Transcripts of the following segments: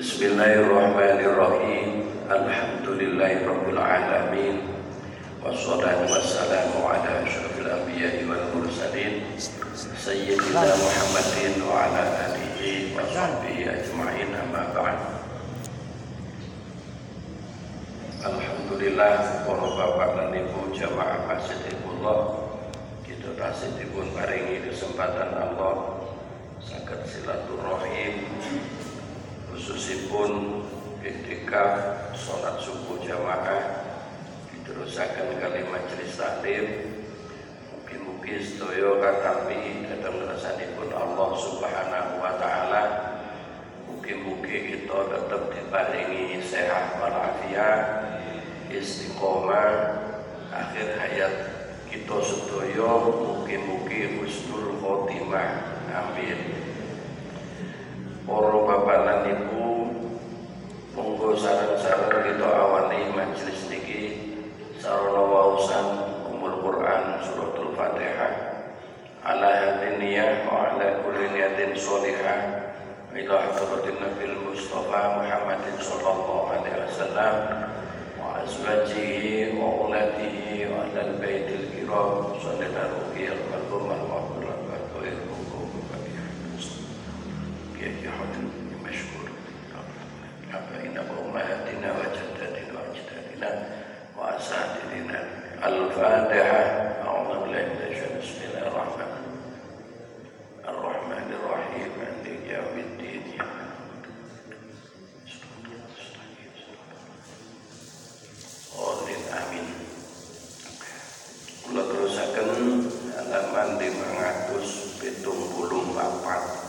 Bismillahirrahmanirrahim. Alhamdulillahirabbil alamin. Wassalatu wassalamu ala asyrofil anbiya'i wal mursalin sayyidina Muhammadin wa ala alihi wa sahbihi ajma'in, amma ba'd. Alhamdulillah, para bapak dan ibu jamaah masjidillah, kita tasih dipun paringi kesempatan Allah saged silaturahim, khususipun iktikaf salat subuh jamaah diterusaken kali majelis taklim. Mugi-mugi sedaya katampi dhateng ngersanipun Allah Subhanahu wa taala. Mugi-mugi kita tetap diparingi sehat walafiat, istiqomah akhir hayat kita sedaya. Mugi-mugi husnul khotimah. Amin. Para bapak lan ibu, monggo sareng-sareng kita awali majelis niki sarana waosan umul Quran suratul Fatihah ala hadiniyah wa ala kulli niyatin sholihah ila hadratin Nabil Mustafa Muhammadin sallallahu alaihi wasallam wa azwajihi wa auladihi wa alal baitil kiram sallallahu alaihi wasallam. Mashkur abaina wa ummahatina wa jaddatina wa ajdadina wa asatidina. Al-Fatihah. A'udzu billahi minasyaitonir rajim. Bismillahirrahmanirrahim. Maliki yaumiddin. Amin. Kula terusaken halaman 574.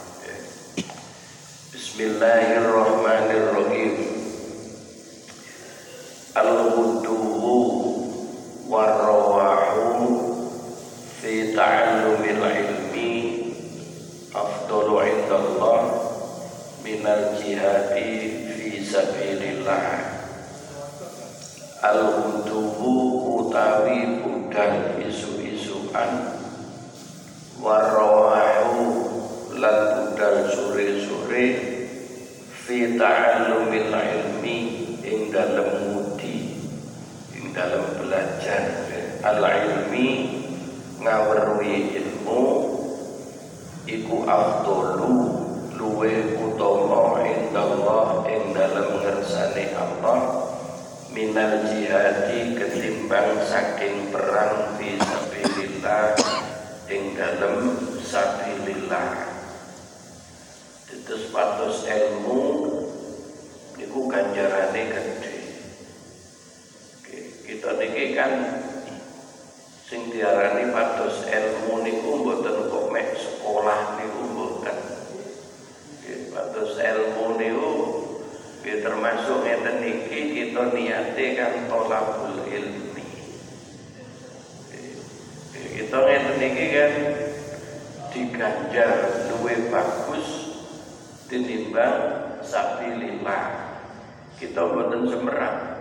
Bismillahirrahmanirrahim. Al-ghuduwu war-rawahu fi ta'allumil ilmi afdalu indallah minal jihadi fi sabilillah. Al-ghuduwu utawi budal isu-isuan, war-rawahu lan budal sore-sore, fi ta'allumil ilmi ing dalem mudi, ing dalem belajar al-ilmi ngaweruhi ilmu iku afdalu luwe utama indallah ing dalem ngersane Allah minal jihadi ketimbang saking perang fi sabilillah ing dalem sabilillah. Terus patos ilmu niku ganjarane gede. Kita niki kan sing diarani patos ilmu niku mboten kok mek sekolah niku mboten. Patos ilmu niku termasuk ngeten niki kita niate kan thalabul ilmi. Kita ngeten niki kan diganjar luwih bagus tinimbang sabilillah. Kita mboten semerang.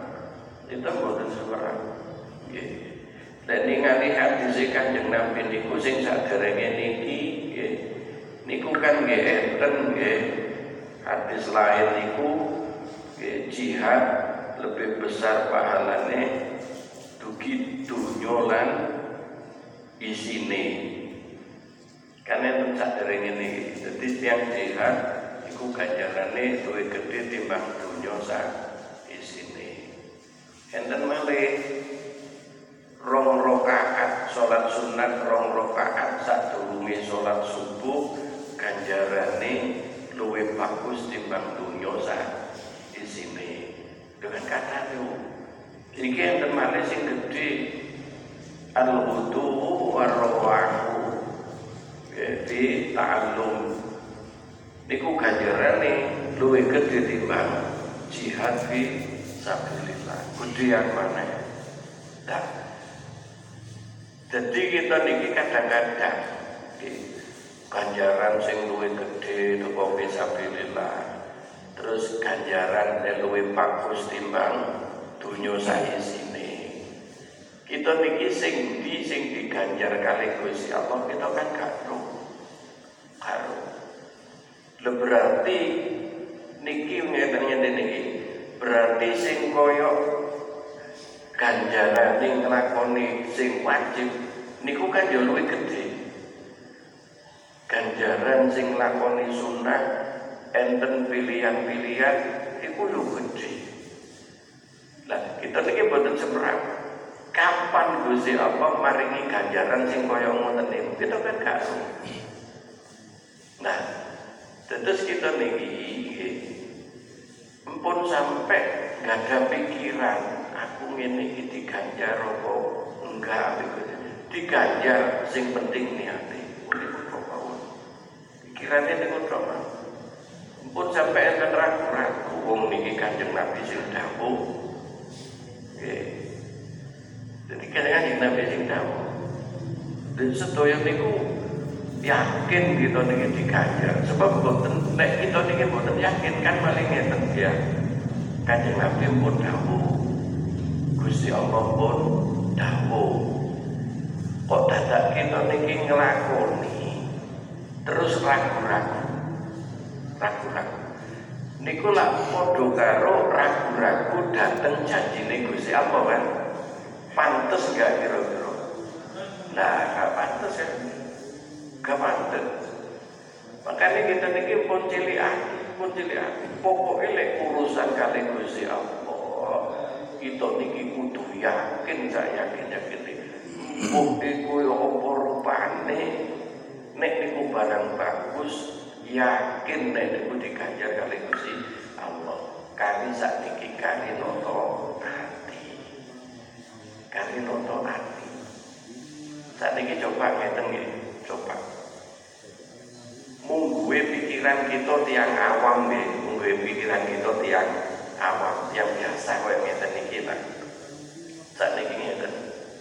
Nggih. Lan ningali hadis Kanjeng Nabi niku sing saderenge niki nggih. Niku kan nggih enten nggih hadis lain niku nggih jihad lebih besar pahalane dugi dunya lan isine. Kan enten saderenge niki. Dadi tiyang jihad iku ganjarane luwih gedhe timbang dunya sak isine. Enten malih 2 rakaat salat sunat, 2 rakaat sadurunge salat subuh ganjarane luwih bagus timbang dunya sak isine. Dengan kata niku iki enten malih sing gedhe al-wudu war-rawahu fi ta'allum niku ganjarane luwih gedhe timbang jihad fi sabilillah. Gedean maneh. Nah, jadi kita niki kadang-kadang ganjaran sing luwih gedhe teko fi sabilillah, terus ganjaran luwih bagus timbang dunya saisine. Kita niki sing diganjar kali Gusti Allah kita kan gak ro. Berarti niki ngeten niki berarti sing kaya ganjarane nglakoni sing wajib niku kan yo luwih gedhe. Ganjaran sing nglakoni sunah enten pilihan-pilihan iku yo gedhe. Lah kita niki boten seberapa. Kapan Gusti Allah maringi ganjaran sing kaya ngoten niku kita kan gak tahu. Nah, terus kita niki empun sampai gak ada pikiran aku ngene iki diganjar apa enggak diganjar sing penting niate niku kok pikirane niku tok empun sampai enten ragu-ragu wong niki Kanjeng Nabi sing dawuh nggih jadi kadang-kadang Nabi sing dawuh dan sedaya niku yakin kita niki diganjar sebab boten nek kita niki boten yakin kan maling ngeten ya Kanjeng Nabi pun dawuh Gusti Allah pun dawuh kok dadak kita niki nglakoni terus ragu-ragu niku lak padha karo ragu-ragu dateng janjine Gusti Allah kan pantes gak kira-kira nah gak pantes ya gak pantes makanya kita niki pun cilik pokoknya lek urusan kali Gusti Allah kita niki kudu yakin saya yakin iku yo apa rupane nek niku barang bagus yakin nek niku diganjar kali Gusti Allah kali sakniki kali noto hati sakniki coba ngeten nggih coba mungguwe pikiran kita tiang awam nggih mungguwe pikiran kita tiang awam yang biasa koyo ngeten niki ta sakniki ngeten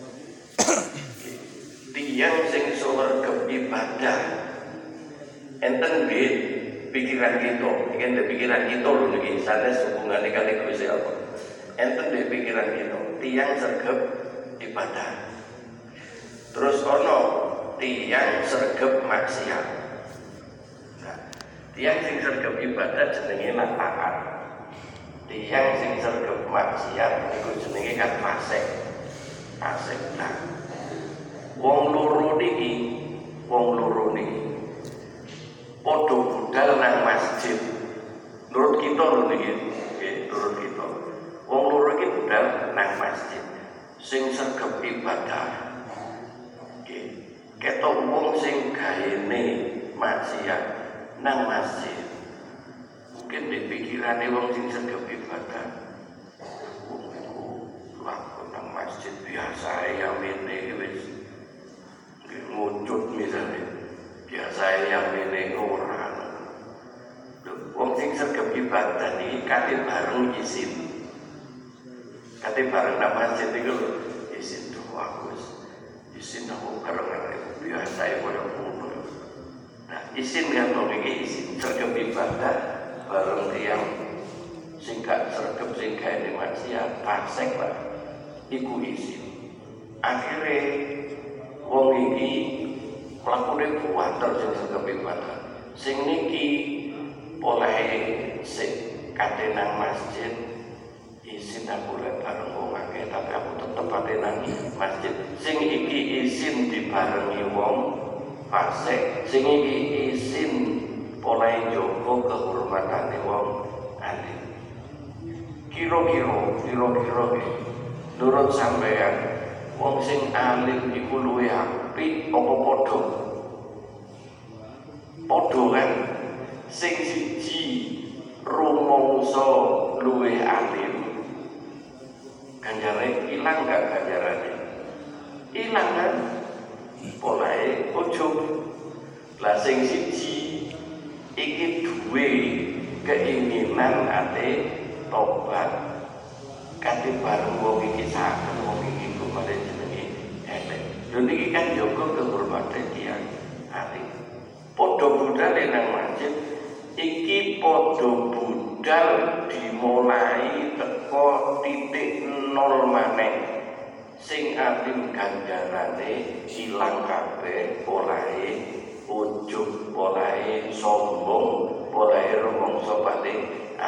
tiang sing suwarga ibadah enten nggih pikiran kita iki pikiran kita lho niki sanes hubungane kali Gusti Allah enten nggih pikiran kita tiang sregep ibadah terus ono tiang sregep maksiat nah tiang sing sregep ibadah jenenge taat tiang sing sregep maksiat iku jenenge kan fasik nah wong loro niki padha budal nang masjid menurut kita lho niki menurut kita wong loro iki budal nang masjid sing sregep ibadah ketok wong sing gaene maksiat nang masjid mungkin di pikirane wong sing sregep ibadah wong iku lakon nang masjid biasa ya mene wis nguncut misalnya biasa ya mene ora wong sing sregep ibadah iki kate bareng izin nang masjid iku izin tuh aku izin aku karena biasa ya koyo ngono. Nah, izin kan iki izin sregep ibadah bareng tiyang sing gak sregep sing gaene maksiat fasik lah. Iku izin. Akhire wong iki mlakune kuwater sing sregep ibadah. Sing niki oleh sing kate nang masjid izin aku lek bareng wong akeh tapi aku tetep ate nang masjid sing iki izin dibarengi wong fasik sing iki izin oleh njogo kehormatane wong alim kira-kira nurut sampeyan wong sing alim iku luwih apik apa padha kan sing siji rumangsa luwih alim ganjarane ilang gak ganjarane ilang kan polahe ujug lah sing siji iki duwe keinginan ate tobat kate bareng wong iki saken wong iki kok malah jenenge elek lho niki kan jaga kehormatan tiyang alim padha budale nang masjid iki padha budal dimulai teko titik nol maneh sing alim ganjarane ilang kabeh polahe ujug polahe sombong polahe rumangsa paling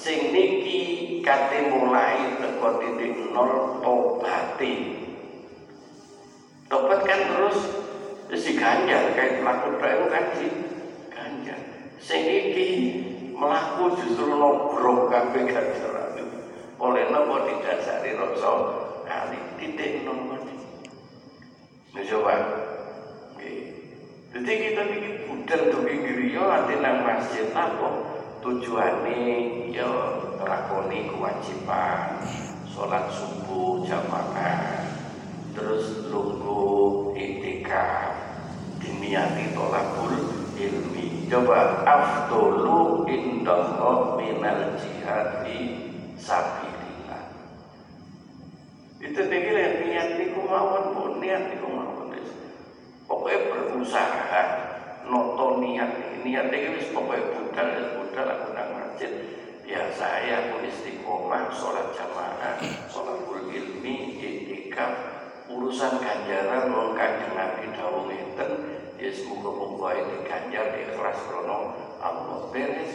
sing niki kate mulai teko titik nol tobati. Tobat kan terus diganjar kayak melaku itu kan diganjar. Sing iki melaku justru nogrok kabeh ganjaran. Oleh napa didasari rasa kali titik nol iki. Coba. Nggih. Jadi kita iki budal dugi griya ati nang masjid apa tujuane ya nglakoni kewajiban salat subuh jamaah terus lungguh iktikaf diniati tolakul ilmi. Coba afdolu indallah minal jihad fi sabilillah. Itu dikira niat niku mawon, niat niku mawon. Pokoknya berusaha noto niat iki wis pokoke budal aku nang masjid biasa ya aku istiqomah salat jamaah sholahul ilmi iktikaf urusan ganjaran wong Kanjeng Nabi dawuh ngeten ya muga-muga iki ganjar ikhlas krono Allah beres.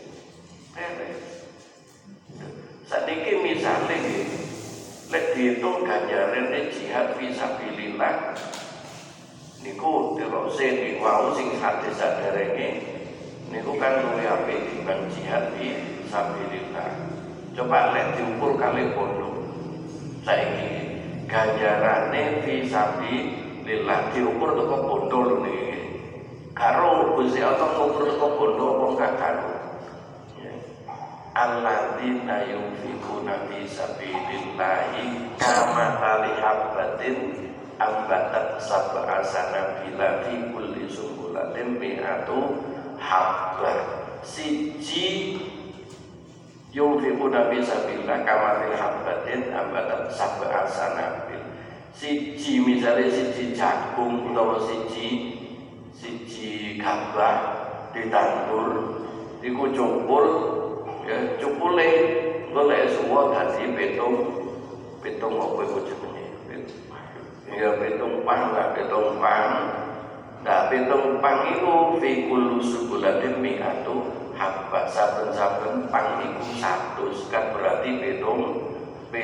Sadiki misale nggih lek diitung ganjarane jihad fisabilillah niku terose di wau sing sadherenge niku kan luwih apik timbang jihad fisabilillah. Coba lek diukur kali bondo saiki ganjarane fisabilillah diukur teko bondo niki karo Gusti Allah ngukur teko bondo apa gak karo alladzina yunfiquna fi sabilillahi kamathali habbatin ambatat sab'a sanabila fi kulli sumbulatin mi'atu habbah. Siji yunfiquna fi sabilillah kamathali habbatin ambatat sab'a sanabil. Siji misalnya siji jagung utawa siji gabah ditandur iku cukul ya cukule golek suwa dadi pitung apa iku jenenge ya pitung pang nah pitung pang iku fi kullu subulatin mi'atu habba saben-saben pang iku 100 kan berarti pitung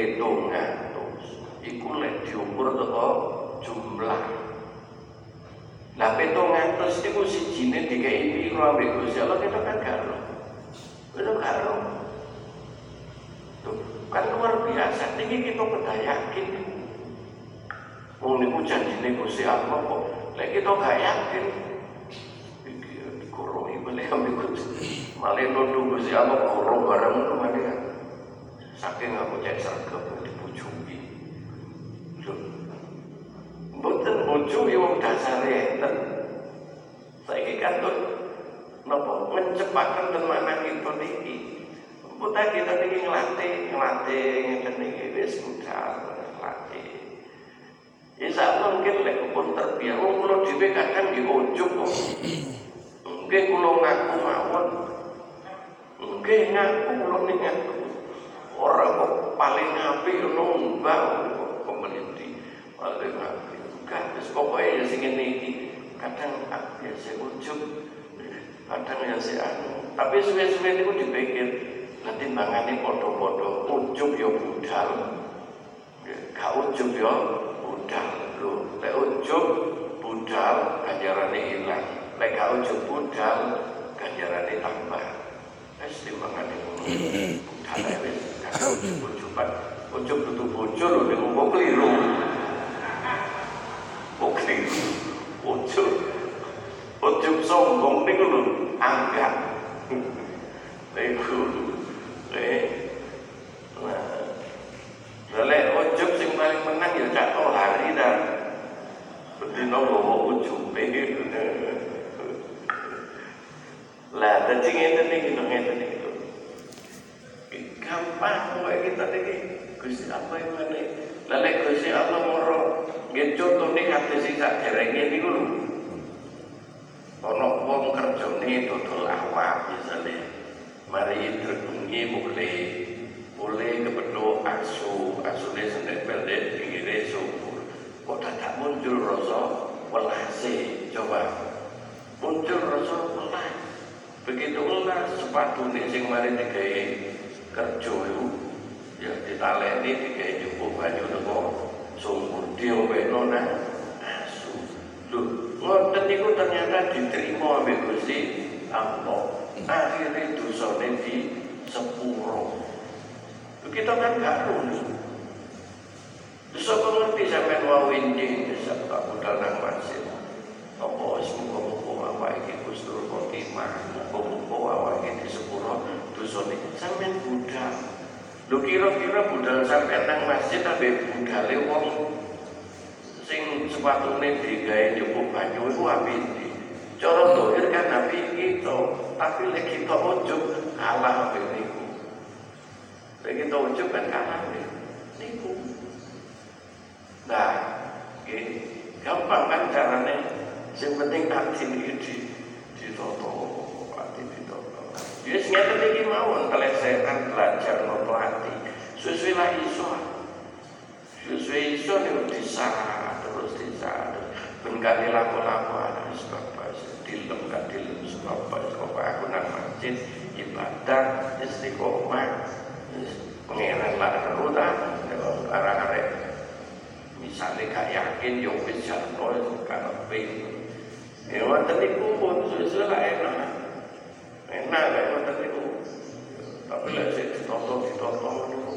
iku lek diukur teko jumlah. Lah 700 iku sijine dikei piro ambek Gusti Allah kita kan karo. Itu karo. Tuh, kan luar biasa. Niki kita kedah yakin. Wong niku janjine Gusti Allah kok lek kita gak yakin. Iki dikoroi beli ambek Gusti. Malah nuduh Gusti Allah koro barang ngono kan. Saking aku cek sergap dibujuki. Mboten bojo ya wong dasare enten. Saiki kantor napa ngecepaken tenanan kita niki. Putra kita niki nglatih ngeten niki wis budal latih. Insya Allah mungkin lek pun terbiasa. Wong kula dhewe kadang nggih ujug kok. Nggih kula ngaku mawon. Nggih ngaku kula ngaku. Ora kok paling apik ngono mbah pemerintah. Paling apik. Kan wis pokoke ya sing ngene iki. Kadang ya sing ujug, kadang ya sing anu. Tapi suwe-suwe niku dipikir lah timbangane padha-padha ujug ya budal. Gak ujug ya budal. Lho, lek ujug budal ganjarane ilang. Lek gak ujug budal ganjarane tambah. Wis timbangane ngono. Budal wis gak ujug-ujugan. Ujug dudu bojo lho nek kok kliru. Oke, ujug sombong niku lho, angkat. Niku. Nah, lek ujug sing paling menang ya Cak Tohari dah. Bedino nggawa ujube. Lah, dadi ngeten iki lho. Gampang wae kita iki. Gusti apa yang ngene? Lah lek Gusti Allah moro nggih contone kados sing saderenge niku lho. Ana wong kerjane dodol awak misale. Mari tertungi mulai kepethuk asune sendek pendek pinggire sumur. Kok dadak muncul rasa welase, coba. Muncul rasa welas. Begitu welas sepatune sing mari digawe kerja itu ya ditaleni digawe njupuk banyu teko sumur diombeno nang asu. Lho, ngoten niku ternyata diterima ambek Gusti Allah. Akhirnya dosane di sepuro. Kita kan gak lulus. Dosa pengerti sampai wawinjing serta budal nang masjid. Apa semoga-moga awak iki kustur khotimah, moga-moga awak iki di sepuro dosane sampean budal. Lho kira-kira budal sampean nang masjid ambek budale wong sing sepatune digawe njupuk banyu iku apike? Cara dohir kan nabi kita, tapi lek kita ujug kalah ambek niku. Lek kita ujug kan kalah ambek niku. Nah, gampang kan carane. Yang penting hati ini ditoto, hati ditoto. Jadi ngeten iki mawon kelesehan belajar noto hati. Sesuai lah iso. Sesuai iso niku disah terus disah. Ben kali laku-laku ana sebab dilem gak dilem sebab aku nang masjid ibadah istiqomah pengeran lah terutan arek-arek misalnya gak yakin yo wis jalo karepe ya wonten niku pun sesuai lah enak kan wonten niku tapi lek ditoto niku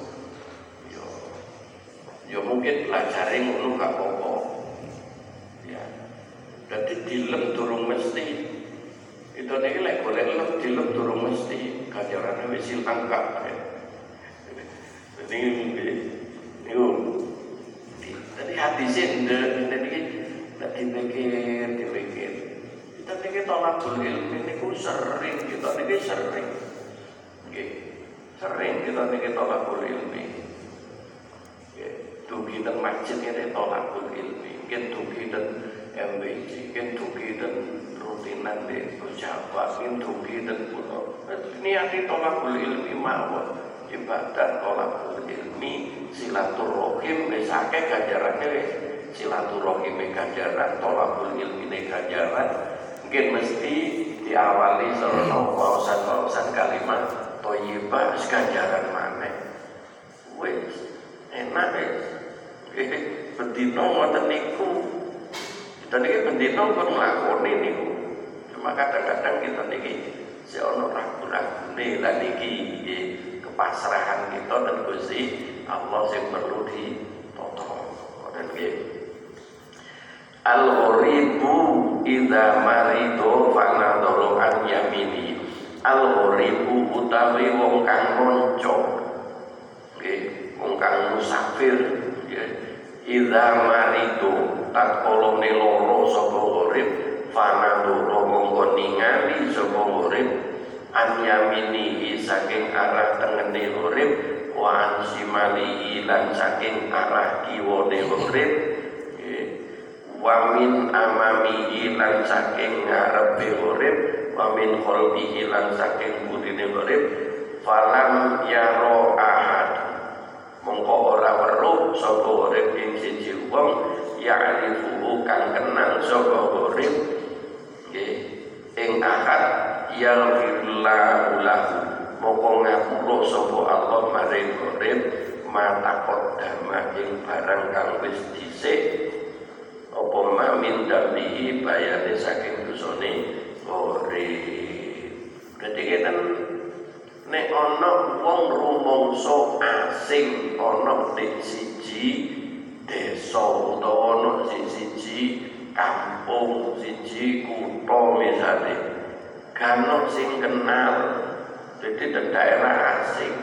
yo mungkin pelajare ngono gak apa-apa ya dadi dilem durung mesti itu niki lek golek lem dilem durung mesti ganjarane wis ilang kabeh dadi niku tadi hati sendiri niki tak dipikir kita niki tolakul ilmi niku sering kita niki sering nggih sering kita niki tolakul ilmi nggih dugi teng masjid ngene tolakul ilmi mungkin dugi teng MBC mungkin dugi teng rutinan di pejabat mungkin dugi teng pulau niati tolakul ilmi mawon ibadah tolakul ilmi silaturahim wis akeh ganjarane wis silaturahim ganjaran tolakul ilmi ganjaran mungkin mesti diawali sarana wawasan kalimat thayyibah wis ganjaran maneh wis enak wis bendina ngoten niku kita niki bendina pun nglakoni niku cuma kadang-kadang kita niki si ono ragu-ragune lan niki pasrahan kita dan Gusti Allah yang perlu ditoto dan al-ghoribu idza marido fanadharu an yamini al-ghoribu utawi wong kang monco nggih wong kang musafir idza marido tatkala loro sapa gharib fanadharu mongko ningali sapa gharib an yaminihi saking arah tengene urip wa an shimalihi lan saking arah kiwane urip wa min amamihi lan saking ngarepe urip wa min khalfihi lan saking burine urip falam yaro ahad mongko ora weruh sapa urip ing siji wong ya'rifu kang kenal sapa urip ing ahad yaghfirullahu lahu moko ngapura sapa Allah maring urip mata kodama ing barang kang wis dhisik apa mamin dambihi bayane saking dosane urip. Dadi keten nek ana wong rumangsa asing ana ning siji desa utawa ana siji kampung siji kutha misale kanok sing kenal jadi di daerah asing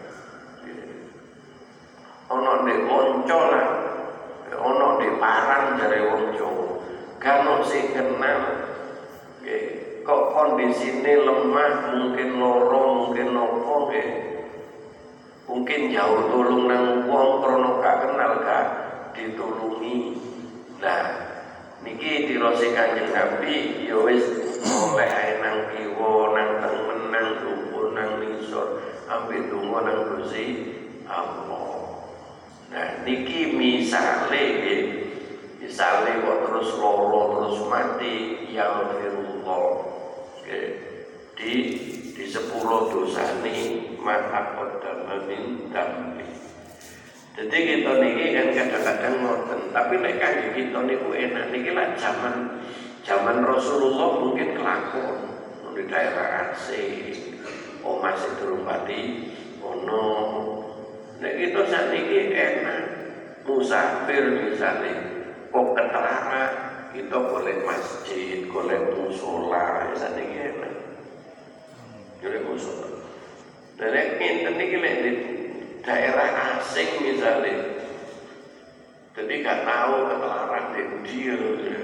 ono di Onco lah ono di Parang dari wong Jawa kanok sing kenal kok kondisine lemah mungkin loro mungkin nopo mungkin jauh tulung nang wong krono gak kenal gak ditulungi nah niki dirose Kanjeng Nabi ya wis oleh ae nang kiwa nang tengen nang dhuwur nang ngisor ampe donga nang Gusti Allah. Nah niki misale kok terus loro terus mati ya firullah. Di di sepuro dosane maka kodama min dambi. Jadi kita niki kan kadang-kadang ngoten, tapi nek kangge kita niku enak niki lah zaman Rasulullah mungkin kelakon di daerah Aceh, omah sing durung pati ono. Nek kita sakniki enak musafir misalnya kok ketara kita boleh masjid, boleh musola, sakniki enak. Boleh musola. Dan nek ngenten niki lek daerah asing misalnya, jadi gak tahu ketularan dia.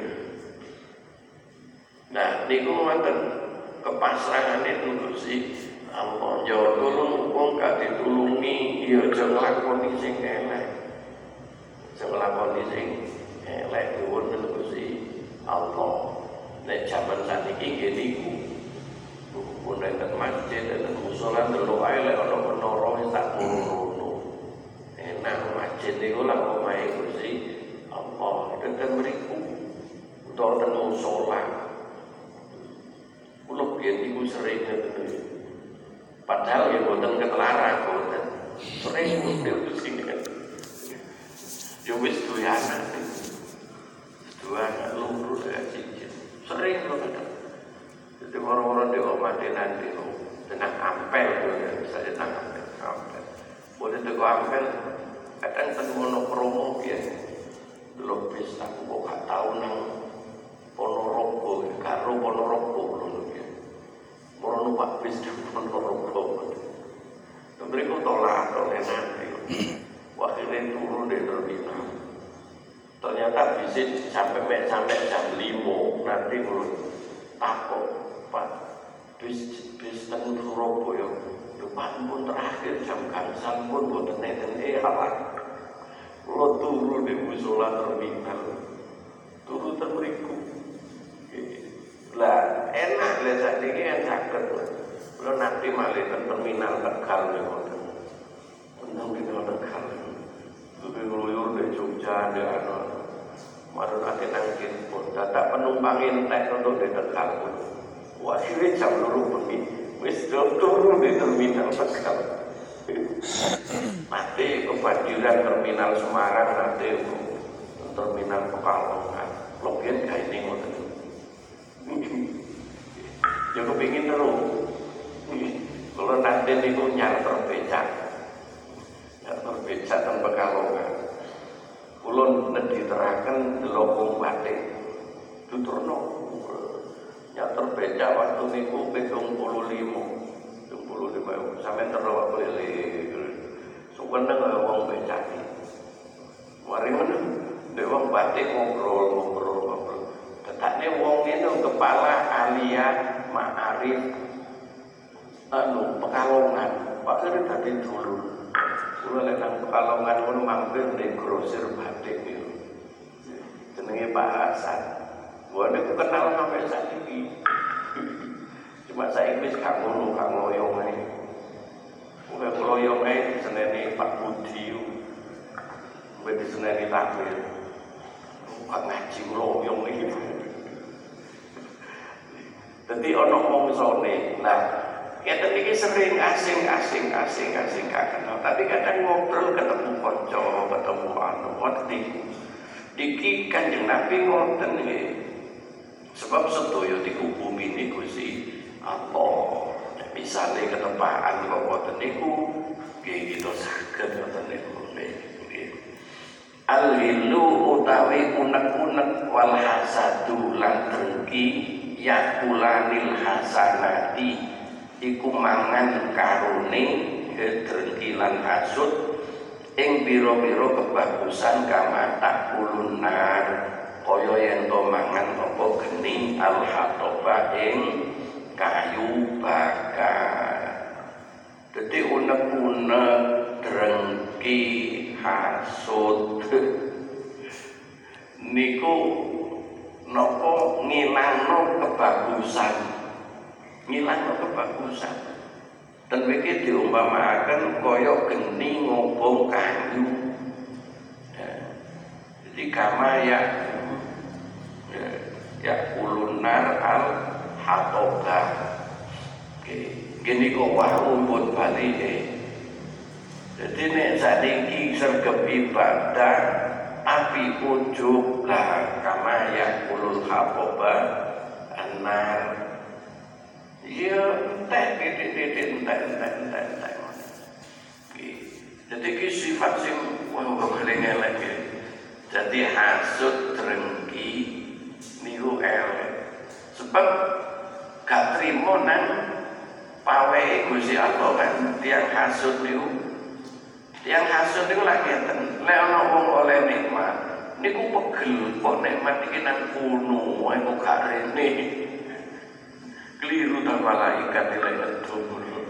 Nah, niku ngoten kepasrahan itu sih. Allah jauh tolong wong gak ditulungi, ya aja nglakoni sing elek. Aja nglakoni sing elek nuwun Gusti Allah. Nek jaman saniki nggih niku. Pun enten masjid, enten musala delok ae lek ana menara wis tak ngono. Enak masjid niku lah omahe Gusti Allah. Enten mriku utawa ten musala. Kulo biyen niku sering ngoten. Padahal ya boten ketelaran boten. Sering niku sing yo wis duwe anak. Dua anak loro siji. Sering lho kadang. Jadi orang-orang di omah nanti tenang ampel saya tenang ampel. Boleh teko ampel kadang ketemu promo ya. Belum bisa aku kok gak tahu nang Ponorogo, karo Ponorogo lho ya. Moro numpak bis di Ponorogo. Mereka tolak nanti. Wah ini turun di terminal. Ternyata visit sampai jam 5 nanti belum takut. Pak, bis teng Surabaya, depan pun terakhir jam gangsal pun boten neten halak. Kulo turu di musala terminal, turu ten mriku. Lah enak lha sakniki kan saged. Kulo nanti malih ten terminal Tegal niku. Untung kita Tegal. Kuwi ngluyur di Jogja ndek ana. Marun ate nangkin pun dadak penumpang entek untuk di Tegal. Wah ini jam 2 bengi, wis turun di terminal Tegal. Nanti kebanjiran terminal Semarang, nanti terminal Pekalongan. Logian kayak ini ngoten. Ya kepingin terus. Kalau nanti niku nyarter becak teng Pekalongan. Kulo nediteraken delok wong batik. Tuturno nyater becak waktu niku 75 sampai terlalu keliling sebenarnya nggak wong becak mari mana dek wong batik ngobrol tetapnya wong ini kepala alia ma'arif Pekalongan Pak kira tadi dulu lek nang Pekalongan pun mampir di grosir batik itu jenenge Pak Hasan. Gua niku kenal sampai saat ini. Cuma saya wis gak ngono, gak ngoyong ae. Uga ngoyong ae diseneni Pak Budi. Uga diseneni takmir. Pak ngaji ngoyong iki. Dadi ana mongsone. Lah, kita iki sering asing gak kenal. Tapi kadang ngobrol ketemu kanca, ketemu anu, ngerti. Iki Kanjeng Nabi ngoten iki. Sebab sedaya dikubumi niku si Allah. Misale ketepaan kok ngoten niku nggih kita saged ngoten niku nggih. Al-hilu utawi unek-unek wal hasadu lan dengki yakulanil hasanati iku mangan karone dengki lan hasud ing pira-pira kebagusan kama takulunar kaya yen to mangan apa geni al-hatoba ing kayu bakar. Dadi unek-unek drengki hasud niku napa ngilangno kebagusan. Dan iki diumpamaken kaya geni ngobong kayu. Jadi kama ya ulunar al hatoba. Oke. Gini kok wau pun balike. Jadi nek sakniki sergep ibadah api ujub lah kama yakulul haboba anar. Ya entek titik entek. Jadi ki sifat sing wong paling elek. Jadi hasud drengki niku elek. Sebab gak trimo nang pawehe Gusti Allah kan tiyang hasud niku. Tiyang hasud niku lak ngeten, lek ana wong oleh nikmat, niku pegel kok nikmat iki nang kuno, ae kok gak rene. Keliru ta malaikat lek ngedum.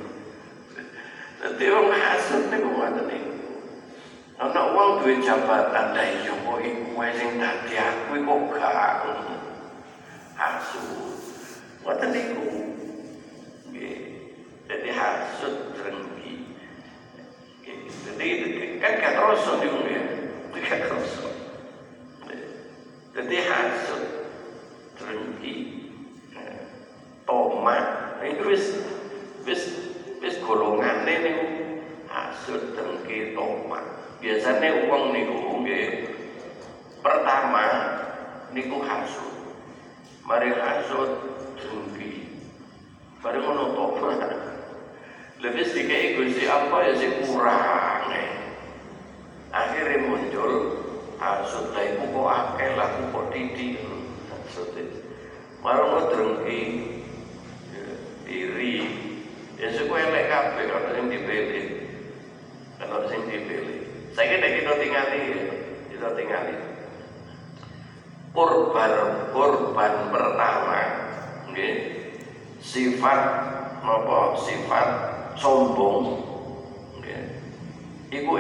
Dadi wong hasud niku ngoten niku. Ana wong duwe jabatan ta iya kok iku wae sing dadi aku kok gak hasud. Ngoten niku. Nggih. Jadi hasud drengki. Jadi kan gak terasa niku ya. Gak terasa. Jadi hasud drengki tomat itu wis golongane niku hasud drengki tomat. Biasanya wong niku nggih pertama niku hasud. Mari hasud drengki. Bareng ngono tomat. Lebih sedikit Gusti apa ya sih kurang akhirnya muncul hasud lah iku kok akeh lah kok titik hasud marang drengki iri ya suku elek kabeh kalau sing dipilih saya kita tinggali korban pertama nggih sifat sombong iku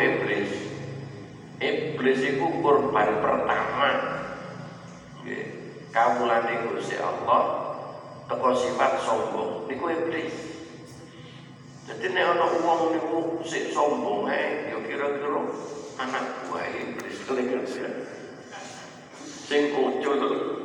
iblis iku korban pertama kawulane Gusti Allah teko sifat sombong niku iblis. Jadi nek ana wong niku sik sombong ae ya kira-kira anak buah iblis kira-kira sing kucul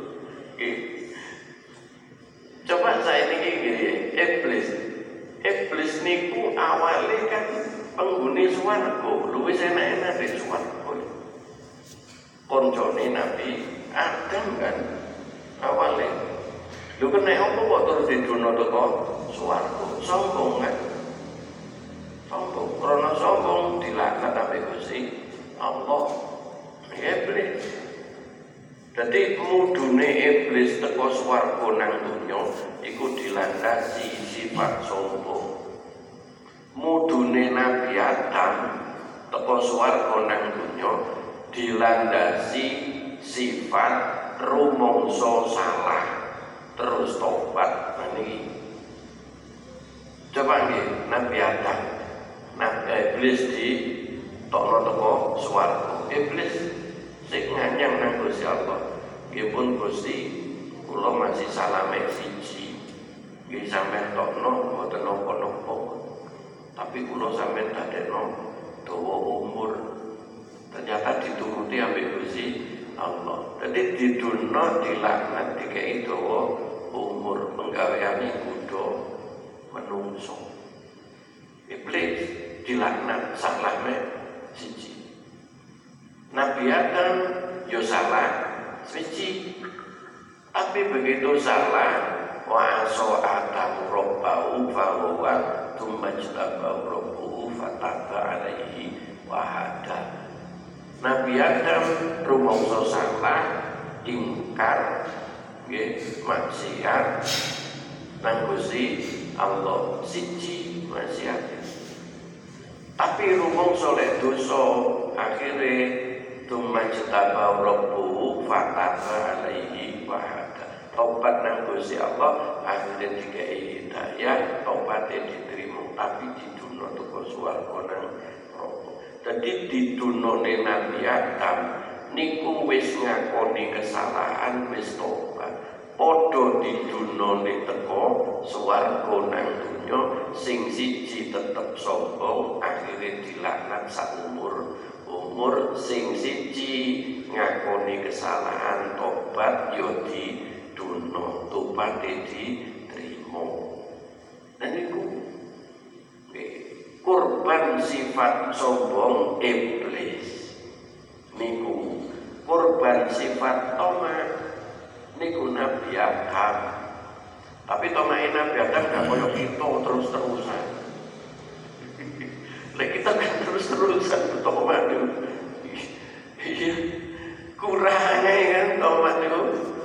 coba saya ini iblis niku awalnya kan penghuni swarga luwih enak-enak di swarga koncone Nabi Adam kan awalnya lu kena apa kok terus didono teko swarga sombong kan sombong karena sombong dilaknat tapi Gusti Allah iblis. Jadi mudune iblis teko swarga nang donya iku dilandasi sifat sombong. Mudune Nabi Adam teko swarga nang donya dilandasi sifat rumangsa salah terus tobat niki. Coba nggih Nabi Adam, iblis di tokno teko swarga. Iblis sing nganyang nang Gusti Allah. Nggih pun Gusti kula masih salame siji. Nggih sampeyan tokno mboten napa-napa. Tapi kula sampeyan dadekno dawa umur. Ternyata dituruti ambek Gusti Allah. Jadi diduno dilaknat dikei dawa umur penggaweane kudu menungso. Iblis dilaknat salahme siji. Nabi Adam yo salah siji. Tapi begitu salah wa aso Adam rabbahu fa huwa tumajtabahu rabbuhu fataba alaihi wa hada. Nabi Adam rumangsa salah ingkar nggih maksiat nang Gusti Allah siji maksiat. Tapi rumangsa lek dosa akhire tumajtabahu rabbuhu fataba alaihi wa hada. Tobat nang Gusti Allah akhirnya dikei hidayah, tobatnya diterima tapi diduno teko swarga nang neraka. Jadi didunone Nabi Adam niku wis ngakoni kesalahan wis tobat. Padha didunone teko swarga nang donya sing siji tetep sombong akhirnya dilaknat saumur umur sing siji ngakoni kesalahan tobat yo diduno tobat diterima. Dan niku kurban sifat sombong iblis niku, kurban sifat toma niku Nabi Adam. Tapi tomain Nabi Adam gak koyo kita terus-terusan. Lek kita kan terus-terusan toma niku. Iya, kurangnya kan toma niku.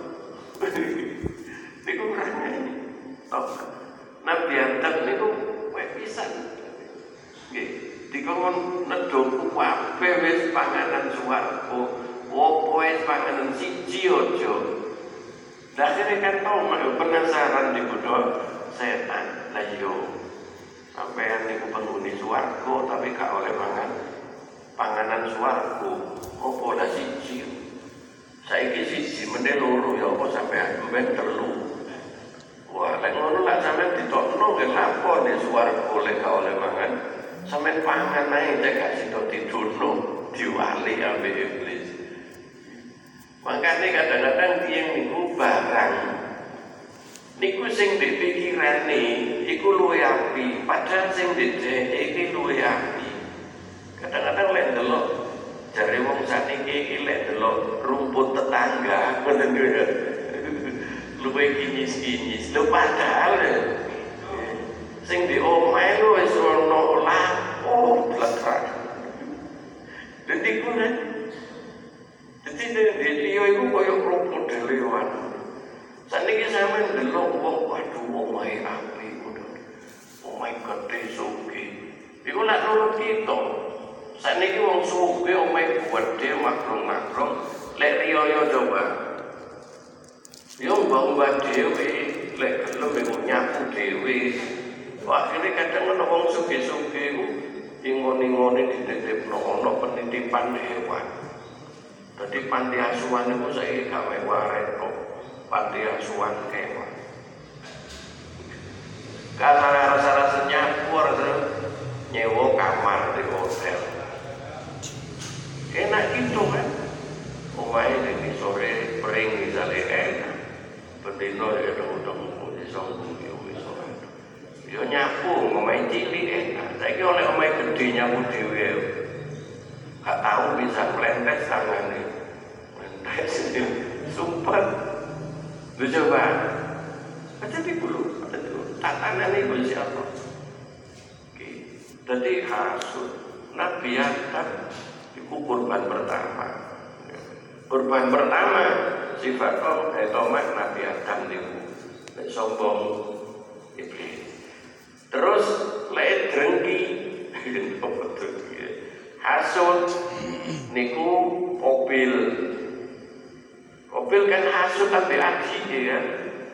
Niku kurangnya toma. Nabi Adam niku pisan. Nggih, dikon nedhok kabeh wis panganan swarga. Opo wis panganan siji aja. Akhirnya kan tau penasaran digodho setan. Lah yo sampean niku penghuni swarga tapi gak oleh mangan panganan swarga. Opo lah siji. Saiki siji meneh loro ya apa sampean men telu. Wah, lek ngono lak sampean ditokno ke lapo nek swarga oleh gak oleh mangan. Sampeyan pangan ae cek gak sida tidurno diwali ambek iblis. Makanya kadang-kadang tiyang niku barang niku sing dipikirane iku luwih apik, padahal sing didhek iki luwih apik. Kadang-kadang lek delok jare wong sakniki iki lek delok rumput tetangga ngoten ya. Luwih kinyis-kinyis. Lho padahal sing di omahe lho wis ana lapo blekrak. Dadi kuwi dadi dia iku koyo rumput delewan. Saniki sampeyan delok wong waduh omahe apik ngono. Omahe gede sugih. Iku lak nurut kita. Saniki wong sugih omahe gede makrong-makrong lek riyo coba. Yo mbah-mbah dhewe lek gelem iku nyapu dhewe. Akhirnya kadang ana wong sugih-sugih iku ingoni-ingoni dititipno ana penitipan hewan. Dadi panti asuhan iku saiki gawe waret kok. Panti asuhan kewan. Karena rasa-rasa nyapu terus nyewa kamar di hotel. Enak gitu kan? Omahe iki sore pring misale enak. Bendino ya dong-dong di sombong ya wis ora. Yo nyapu omahe cilik enak. Saiki oleh omahe gedhe nyapu dhewe. Gak tahu bisa melentes tangane. Melentes sumpah. Lu coba. Tapi dulu tatanan iku siapa? Oke. Dadi hasud Nabi Adam iku kurban pertama. Kurban pertama sifat tomat Nabi Adam niku sombong iblis. Terus lek drengki hasud niku Qabil. Qabil kan hasud ambek adike kan.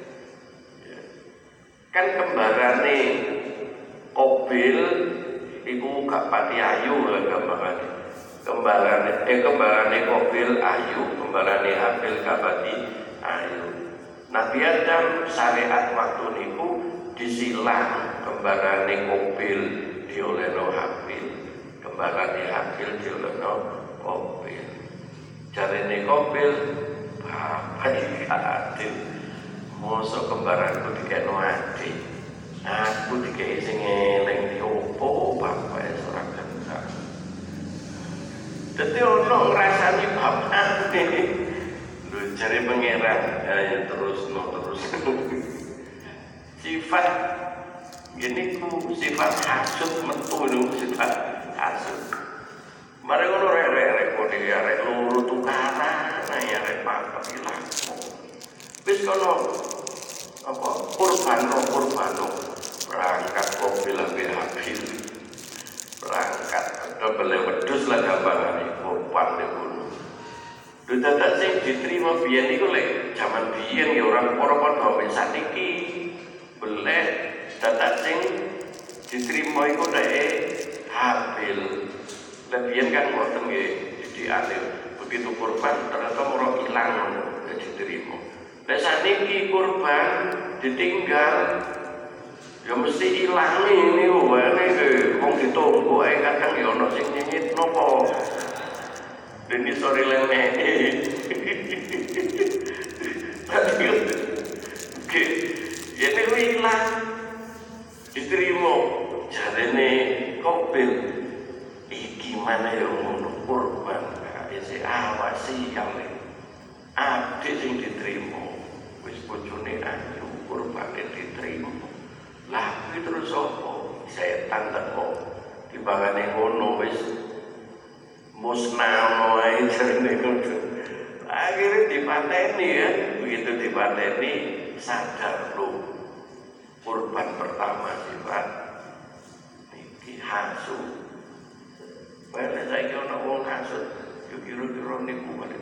Kan kembarane Qabil iku gak pati ayu lah gambarane. Kembarane Qabil ayu, kembarane Habil gak pati ayu. Nabi Adam syariat waktu niku disilang kembarane Qabil diolehno Habil, kembarane Habil diolehno Qabil. Jarene Qabil bapak iki adil. Mosok kembaranku dikekno adik. Aku dikei sing eleng di opo bapak ora gendak. Dadi ono ngrasani bapak iki. Lho jare pangeran ya terus. Sifat ini ku sifat hasud metu lho sifat hasud. Mare ngono rek kok arek loro tukaran ya arek papat iki lha. Wis kono apa kurban berangkat Qabil ambek Habil. Berangkat double wedhus lah gampangane kurban niku. Lho dadak sing diterima biyen iku lek jaman biyen ya ora padha wis saniki. Beleh dadak sing diterima iku nek Habil. Lebihan kan ngoten nggih didikane begitu kurban ternyata ora ilang diterima. Nek saniki kurban ditinggal ya mesti ilang ini wae wong ditunggu ae kadang ya ono sing nyengit nopo. Dene sore lene. Oke, ya nek ilang diterima jarene Qabil iman ya ngono kurban isi awasi kali abdi sing diterima wis bojone ayu kurbane diterima lah kuwi terus apa setan teko dibangane ngono wis musnah wae jarene ngono akhirnya dipateni ya begitu dipateni sadar lu kurban pertama sifat iki hasud. Padahal saya kira nak orang hasud, kira-kira niku balik.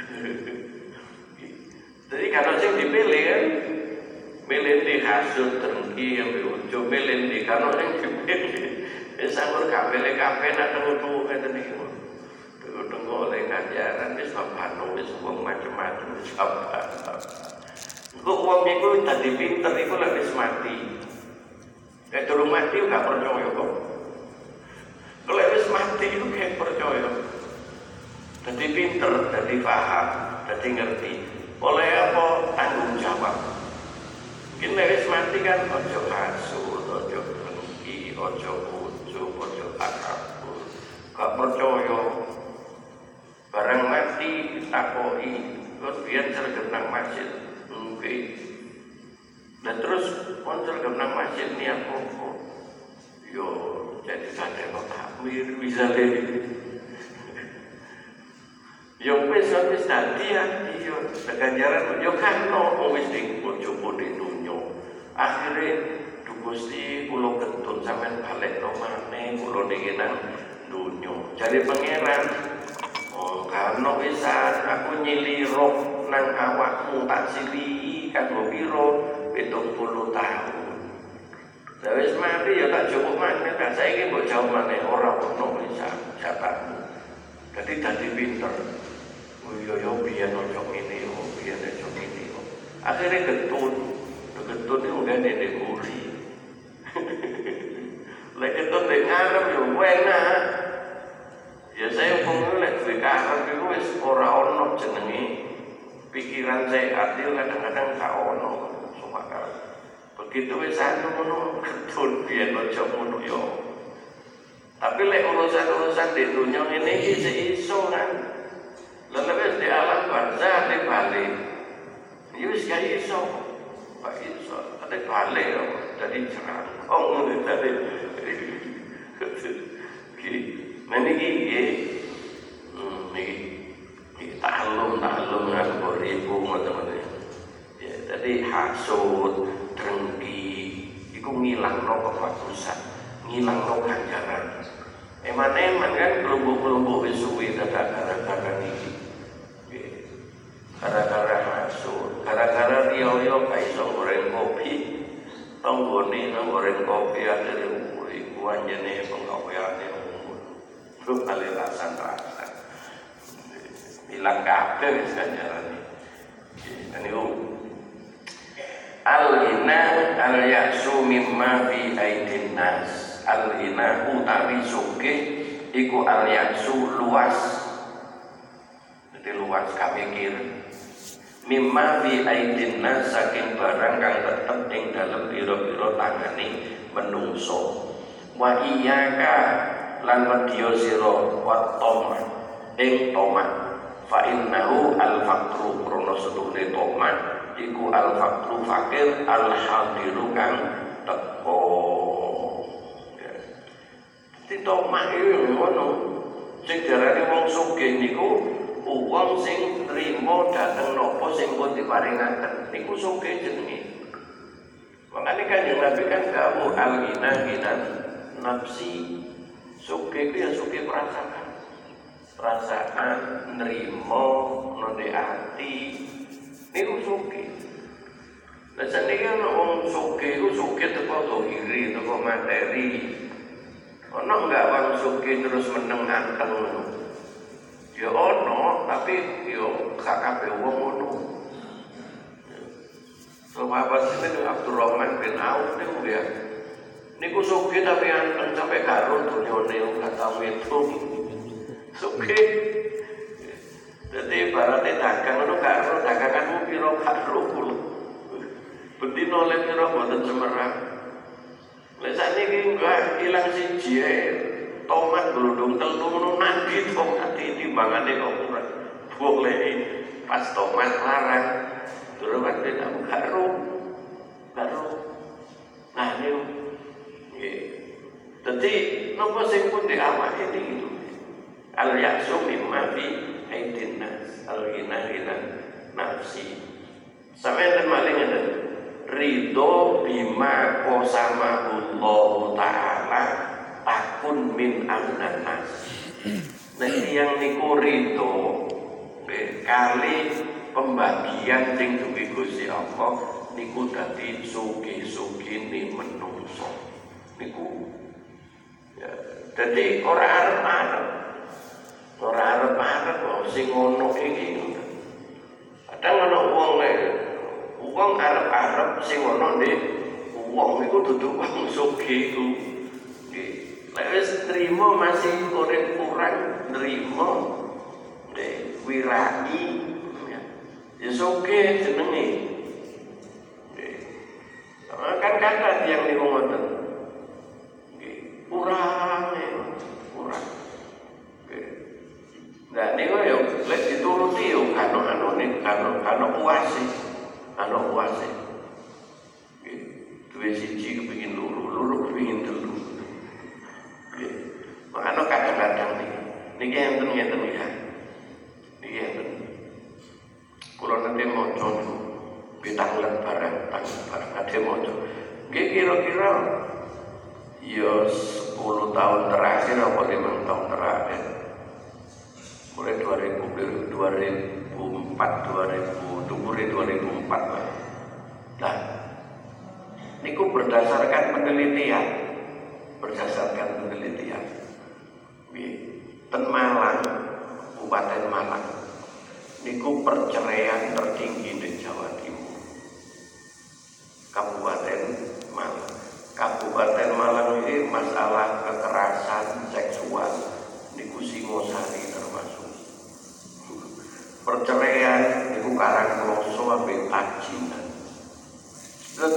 Jadi kalau saya dipilih kan, milih di hasud terengki yang berujo, milih di kalau yang dipilih, sambil kapel nak tunggu kata niku, tunggu oleh kajaran, wis bapak wis uang macam-macam, wis apa. Kok uang itu tadi pinter itu lagi mati, kayak turun mati nggak percaya kok. Kalau wis mati itu kayak percaya, jadi pinter, jadi paham, jadi ngerti. Oleh apa tanggung jawab. Mungkin wis mati kan ojo hasud, ojo dengki, ojo ujub, ojo takabur. Gak percaya. Barang mati ditakoi, terus biar tergenang masjid, mungkin. Dan terus tergenang masjid ni apa? Yo. Jadi sadar kok takmir misalnya yang wis tadi ya iyo ganjaran yo kan no wis dicoba di dunia akhirnya Gusti kula ketun sampean balik no maneh kula niki nang dunia jadi pangeran karena wisan aku nyilirok nang awakmu tak sili kanggo pira 70 tahun. Wis mati ya tak cukup maneh kan saiki mbok jauh maneh ora ono bisa jatahmu. Dadi pinter. Oh iya biyen ojo ngene yo, biyen ojo ngene yo. Akhire getun itu ngene nek muri. Lek getun nek ngarep yo enak. Ya saya ngomong lek duwe karep iku wis ora ono jenenge pikiran sehat itu kadang-kadang gak ono sumakar. Begitu wis anu ngono ketun biyen ojo ngono yo. Tapi lek urusan-urusan di dunia ini iso kan. Lalu wis di alam barzah di balik. Ya wis gak iso. Pak iso ada balik yo dari cerangkong ngono tadi. Nah niki niki taklum aku ribu teman-teman. Ya, jadi hasud, dengki, itu ngilangno kebagusan, ngilangno ganjaran. Eman-eman kan kelompok-kelompok wis suwi gara-gara niki. Gara-gara hasud, gara-gara riyo-riyo gak iso goreng kopi. Tanggone nang goreng kopi akhire iku anjene penggaweane lu kali rasan-rasan. Hilang kabeh wis ganjarane. Niku al-ghina al-ya'su mimma fi aidin nas. Al-ghina utawi sugih iku al-ya'su luas. Jadi luas kamikir. Mimma fi aidin nas saking barang kang tetep ing dalem pira-pira tangane menungso. Wa iyyaka lan wedya sira wa toma ing toma fa innahu al-faqru krana sedune toma iku al-faqru fakir al-hadiru kang teko. Dadi toma iki ngono sing diarani wong sugih niku wong sing trima dhateng napa sing pun diparingaken niku sugih jenenge. Makane Kanjeng Nabi kan dawuh al-ghina ghinan nafsi. Sugih itu ya sugih perasaan nerimo nonde hati niku sugih. Lah saniki ana wong sugih iku sugih teko zahiri teko materi. Ana enggak wong sugih terus meneng anteng ngono. Ya ana tapi yo gak kabeh wong ngono. Sahabat sinten Abdurrahman bin Auf niku ya niku sugih tapi anteng sampai karo dunyane gak tau ngitung. Sugih. Dadi ibaratnya dagang ngono karo daganganmu pira karo kula. Bendina oleh pira boten semerang. Lek sakniki enggak ilang siji tomat gludung telu ngono nandi tomat timbangane kok ora boleh pas tomat larang terus kan beda karo nah niku nggih dadi napa sing pun di awak ini gitu al ya'su mimma fi aidin nas al ghina nafsi sampeyan maling ngeten ridho bima qasamahullahu ta'ala takun min amnan nas. Nek yang niku ridho kali pembagian sing duwe Gusti Allah niku dadi sugih-sugihne menungso niku. Ya, dadi ora arep-arep sing ngono iki. Kadang ana wong arep-arep sing ono ndek wong iku dudu wong sugih iku. Nek wis trimo masih urip kurang nrimo ndek wirani ya sugih jenenge. Kan kata yang niku ngoten. Kurang. Nah niku yo lek dituruti yo kano puase. Duwe siji kepengin loro kepengin telu. Makanya kadang-kadang niki enten ya. Niki enten. Kula nanti maca niku pitanglet barang ade maca. Nggih kira-kira ya 10 tahun terakhir apa 5 tahun terakhir. Mulai 2004 lah. Nah, niku berdasarkan penelitian. Ten Malang, Kabupaten Malang, niku perceraian tertinggi di Jawa Timur. Kabupaten Malang ini masalah kekerasan seksual niku Singosari termasuk. Perceraian niku Karangploso ambek Tajinan. Terus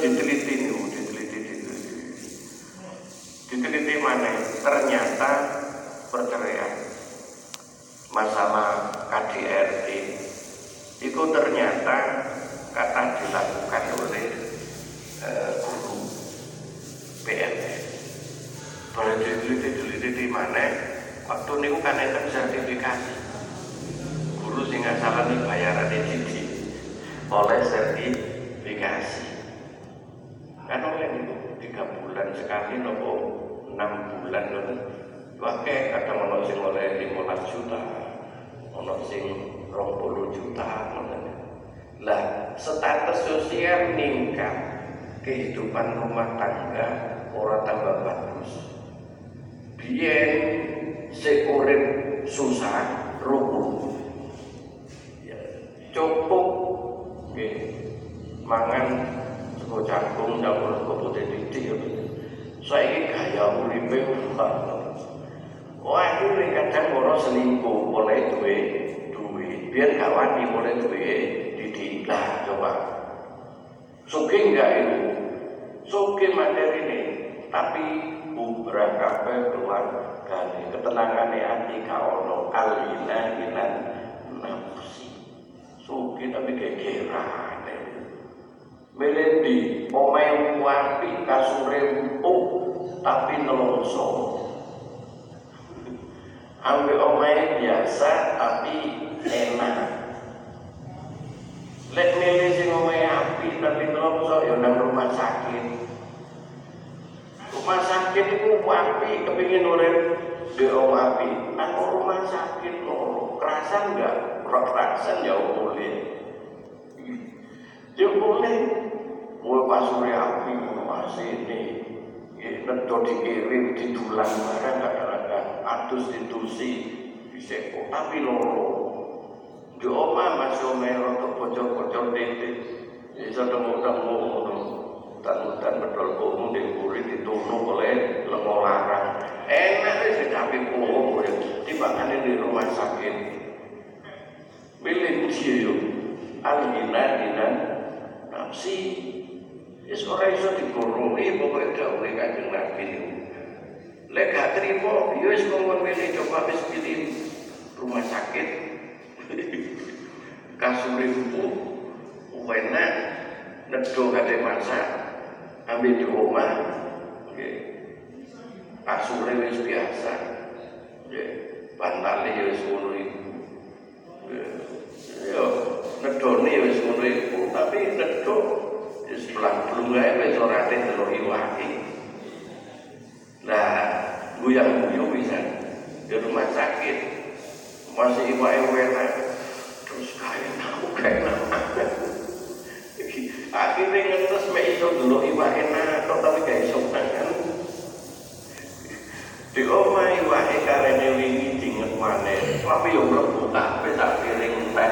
diteliti mana? Ternyata perceraian masalah KDRT itu ternyata kata dilakukan oleh guru PNS. Boleh diteliti mana? Waktu niku kan enten sertifikasi. Guru sing asalane bayarane siji oleh sertifikasi. Kan oleh niku 3 bulan sekali nopo 6 bulan ngono. Wae kadang ono sing oleh 15 juta, ono sing 20 juta ngono. Lah, status sosial meningkat, kehidupan rumah tangga ora tambah bagus. Biyen sing urip susah rubuh. Ya, cukup nggih mangan sego jagung ndang sego putih titik. Saiki gaya uripe wah iki kadang ora selingkuh oleh duwe biar gak wani oleh duwe didik lah coba sugih enggak itu sugih materi ini tapi bubrah kabeh keluar dari ketenangane ati ka ono kalina nafsi sugih tapi gegerane melendi omahe wapi kasure empuk tapi nelongso ambil omahe biasa tapi enak. Lek milih sing omahe api tapi nelongso ya nang rumah sakit. Rumah sakit itu api kepingin urip di omah api. Nang rumah sakit lho, kerasan enggak? Kerasan ya boleh. Ya boleh. Mulai pasure api masih ini. Neto dikirim didulang barang kadang-kadang atus ditusi diseko tapi loro di omah masih omero untuk bocor-bocor titik bisa temu-temu hutan-hutan betul umum diburi ditunu oleh lengo larang enak sih tapi umum timbangannya di rumah sakit milih dia alinan nafsi wis ora iso digoroni pokoke dawuhe Kanjeng Nabi niku. Lek gak trimo wis ngomong ngene coba wis pilih rumah sakit. Kasure empuk, enak, nedo kate masak, ambil di omah. Nggih. Kasure wis biasa. Nggih. Bantale ya wis ngono iku. Yo nedone wis ngono iku, tapi nedo wis blang-blungae wis ora ate delok iwake. Nah, guyang-guyu bisa di rumah sakit masih iwake enak terus kayak enak. Akhirnya ngetes mek iso delok iwake enak tapi gak iso mangan. Di omah iwake karene wingi dinget maneh, tapi yo mlebu kabeh sak piring teh.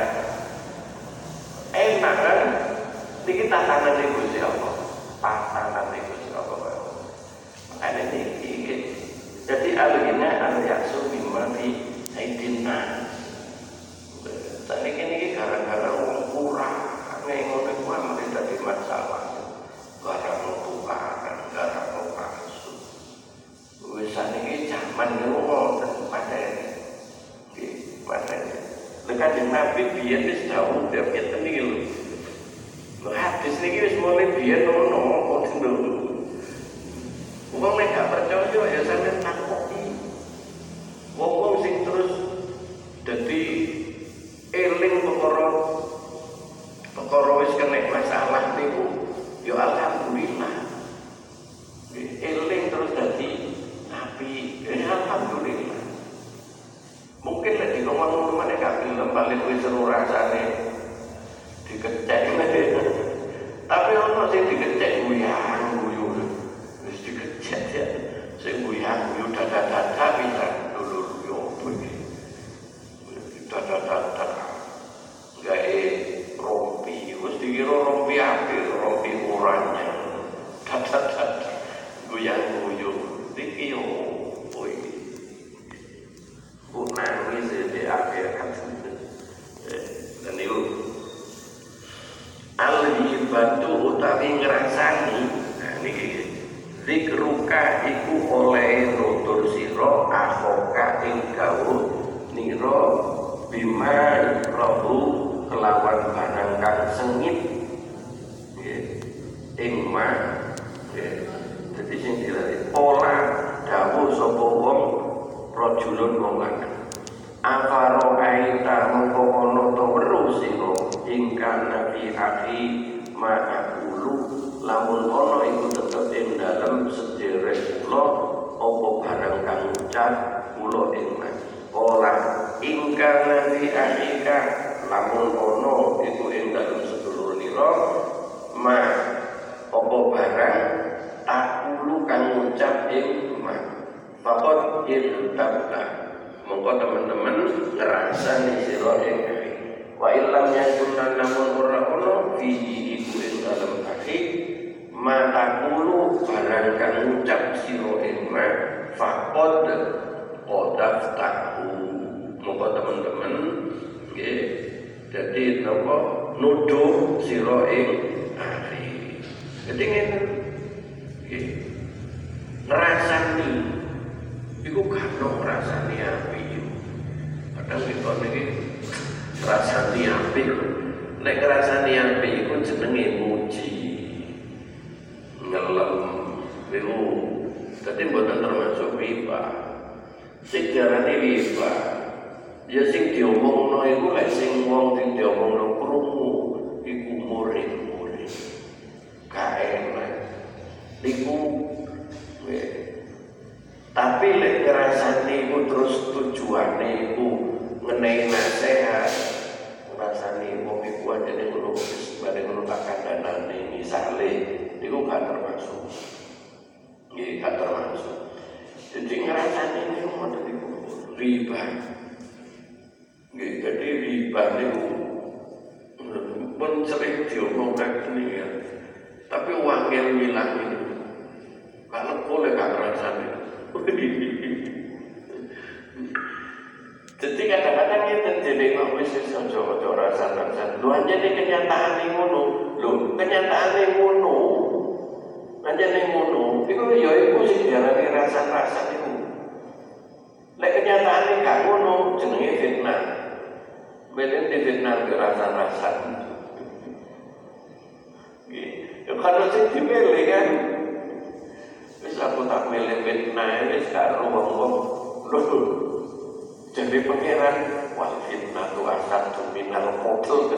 Enak kan? Niki tatanane Gusti Allah. Tatanane Gusti Allah. Makanya niki jadi alihnya al-yaksu bima fi aidina. Saniki niki gara-gara wong kurang ngono iku amane dadi masalah. Gara-gara tukaran, gara-gara palsu. Wis saniki jaman niku ngoten padane. Nggih, padane. Lekat Nabi biyen wis dawuh ngeten niki lho. Hadis niki wis mulai biyen ono kok lho. Wong nek gak percaya ya sampeyan takoki. Wong sing terus dadi eling perkara wis kena masalah niku ya alhamdulillah. Eling terus dadi api, ya alhamdulillah. Mungkin nek ngomong meneh gak gelem balik wis seru rasane dikecek. Tapi ono sing dikecek guyu. Ya, sing guyu dada-dada bisa dulu yo iki. Dada-dada. Gawe rompi, wis dikira rompi apik, rompi murahnya. Dada-dada. Guyu iki yo kuwi. Bukan wis di akhir kan. Dan itu al-hibatu utawi ngrasani. Nah niki zikruka iku oleh nutur sira akhoka ing gawuh nira bima rohu kelawan barang kang sengit ing ma dadi sing dilare pola dawuh sapa wong rajulun wong lanang afaro aita mengko ana to weruh sira ingkang nabi akhi ma'akulu lamun ana iku tetep ing dalem sedherek kula apa barang kang ucap kula ing ora ingkang nabi akhika lamun ana iku ing dalem sedulur nira ma apa barang takulu kang ucap ing ma fakot irtabna mongko teman-teman ngrasani sira ing wa illam yakun namun ora ana fihi iku ing dalem akhi matakulu barang kang ucap sira ing ma faqad qadaftahu monggo teman-teman nggih dadi napa nuduh sira ing akhi dadi ngene nggih ngrasani iku gak ngrasani api padahal kita niki ngrasani api nek ngrasani api iku jenenge muji ngelem niku dadi mboten termasuk riba. Sing diarani riba ya sing diomongno iku lek sing wong sing diomongno krungu iku murid-murid. Gak enak. Niku tapi lek ngrasani iku terus tujuane iku ngenehi nasihat. Ngrasani wong iku ajene ngono wis bareng ngono tak kandhanane misale niku gak termasuk. Nggih, gak termasuk. Jadi ngrasani niku ngoten niku riba. Nggih, jadi riba niku pun sering diomongkan ini ya. Tapi wangel milah itu. Kalau boleh gak ngrasani. Jadi kadang-kadang kita jadi ngomong sesuatu rasa-rasa. Lu aja nih kenyataan ngono. Lu kenyataan ngono. Aja nih ngono. Iku ya iku sing diarani rasa-rasa niku. kenyataannya gak ngono, jenenge fitnah. Melen di fitnah rasa-rasan. Ya kalau sing dipilih kan, wis aku tak milih fitnah, wis karo wong-wong lho. Jadi pangeran wal fitnah tu asal minal qatl.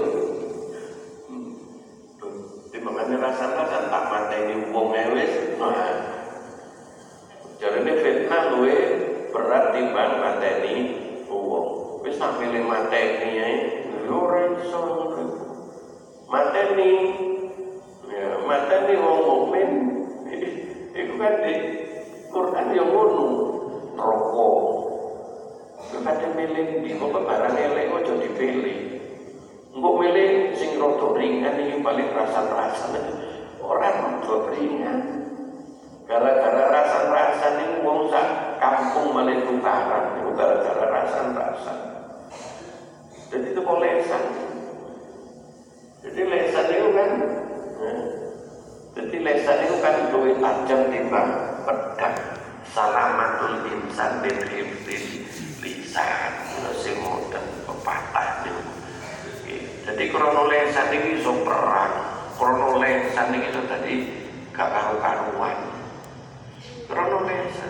Di mana rasa-rasan tak mateni wong wis. Nah, jarene fitnah luwe berat timbang mateni wong. Wis tak milih mateni ae, lho ora iso. Mateni ya, mateni wong mukmin. Iku kan di Quran yang ngono. Neraka. Kadang milih di kok barang elek aja dipilih. Engko milih sing rada ringan iki paling rasan-rasan. Ora rada ringan. Gara-gara rasan-rasan iki wong sak kampung malah tukaran, itu gara-gara rasan-rasan. Jadi itu kok lesan. Jadi lesan itu kan jadi lesan itu kan luwih tajam timbang pedang. Salamatul insan bin hifdil lisan sing modern pepatah niku. Jadi krono lesan iki iso perang, krono lesan iki iso dadi gak karu-karuan. Krono lesan.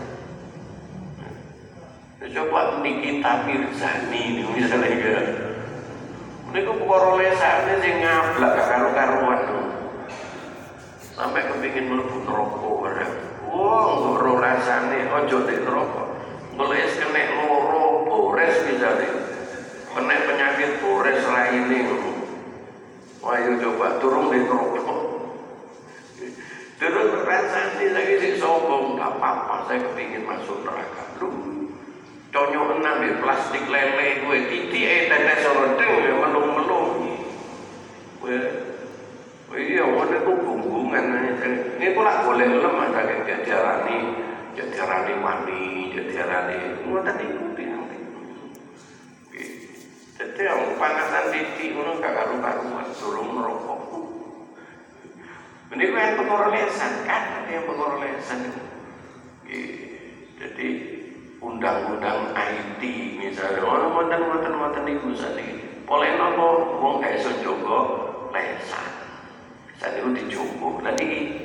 Coba Nikita Mirzani niku misalnya iki. Niku perkara lesane sing ngablak gak karu-karuan. Sampai kepingin mlebu neraka bareng. Wong ora rasane aja nek neraka. Mulai kena loro bores misalnya. Kena penyakit bores raine. Wah, yo coba turun di neraka. Turun rasane lagi sing sombong, gak apa-apa saya kepingin masuk neraka. Lu conyok enam di plastik lele gue titike tetes rendeng ya melung-melung. Iya, ada tuh bumbungan. Ini pula boleh lemah dari jadiarani mani, jadiarani. Mau tadi ikuti nanti. Jadi yang panasan titik itu gak karu-karuan, suruh merokok. Ini kan perkara lesan kan, yang perkara lesan. Jadi undang-undang IT misalnya, orang mantan ibu sani. Boleh nopo, wong gak iso jogo lesan. Saat itu dicoba lagi.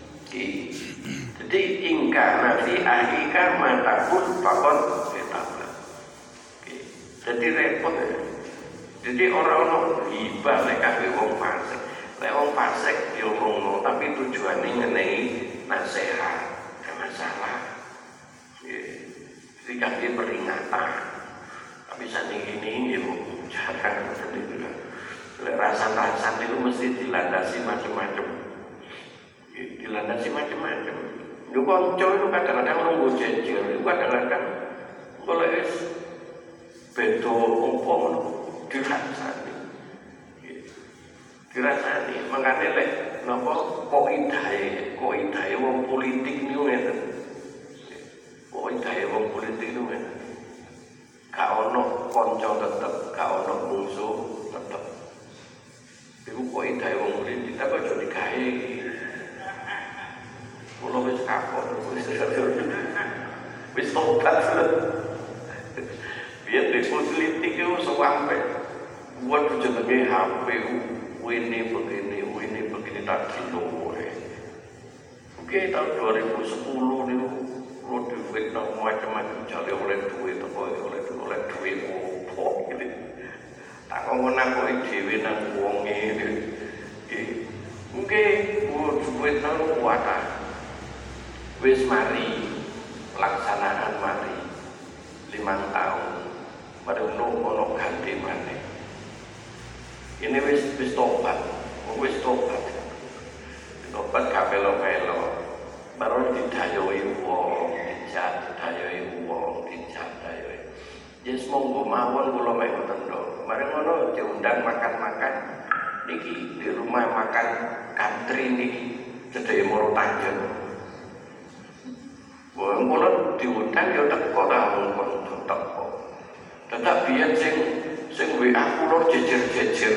Jadi ingkar nafi ahika matakun pakon ketabla. Jadi repot ya. Jadi orang-orang hibah mereka wong fasik. Lek wong fasik diomongno tapi tujuannya ngenai nasihat, gak masalah. Jadi kaki peringatan. Tapi saat ini ya jarang sendiri. Rasan-rasan itu mesti dilandasi macam-macam. Dilandasi macam-macam. Itu konco itu kadang-kadang nunggu jejer. Itu kadang-kadang kalau bedo umpam dirasani. Dirasani. Makanya kok idai wong politik ini ngeten. Kok idai wong politik ini ngeten. Gak ono konco tetep, gak ono musuh tetep. Iku kok idai wong politik apa aja digawe. Kulo wis kapok, wis tobat. Biar di politik itu sampai buat jenenge HP, ini begini tak kilo. Oke, tahun 2010 nih, lo duit macam-macam cari oleh duit opo gitu. Tak ngomong aku dewe nang wong ini. Mungkin duit nang kuat. Wis mari pelaksanaan mari 5 tahun. Baru ono ganti mana? Ini wis tobat. Tobat kapelo-pelo. Baru didayoi wong, didayoi. Yes monggo mawon kula mek ngoten to. Mari ngono diundang makan-makan niki di rumah makan country niki cedheke Moro Tanjung. Wong kula diundang ya teko ta mongkon teko. Tetap biyen sing WA kula jejer-jejer.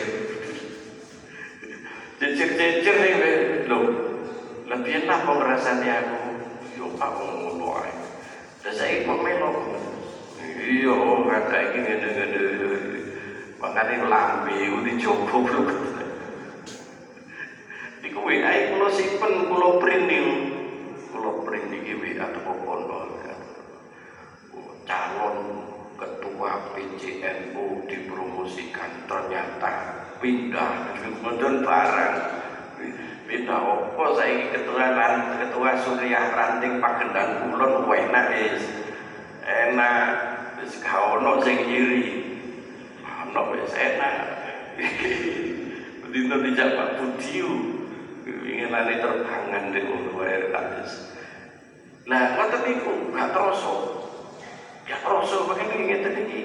Jejer-jejer lho. Lebih enak kok ngrasani aku. Yo Pak ngono ae. Lah saiki kok melo. Iya, kata iki ngene-ngene. Makane lambe udah dijogo blok. Iku WA kula simpen, kula print niku. Kula print iki WA teko kono. Calon ketua PCNU dipromosikan ternyata pindah kemudian barang pindah apa saiki ketua Suriah Ranting Pagendang Kulon enak wis gak ono sing nyiri ono wis enak dino dijak Pak Budiu inginane terbangan dek ngono wae kabis lah ngoten niku gak terasa ya terasa makane ngeten iki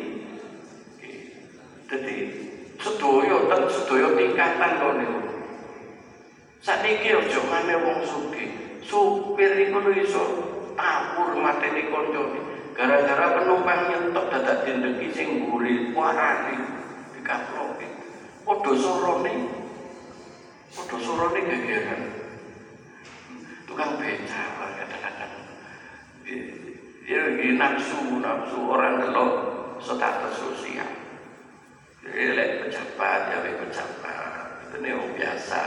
dadi sedaya tingkatan kok niku sakniki aja maneh wong sugih supir iku lho iso tawur mateni koncone gara-gara penumpang nyentok dadak dendeki sing mburi warane dikaploki padha sorone gegeran tukang becak kadang-kadang ya nafsu orang delok status sosial lek pejabat ya pejabat itu nih biasa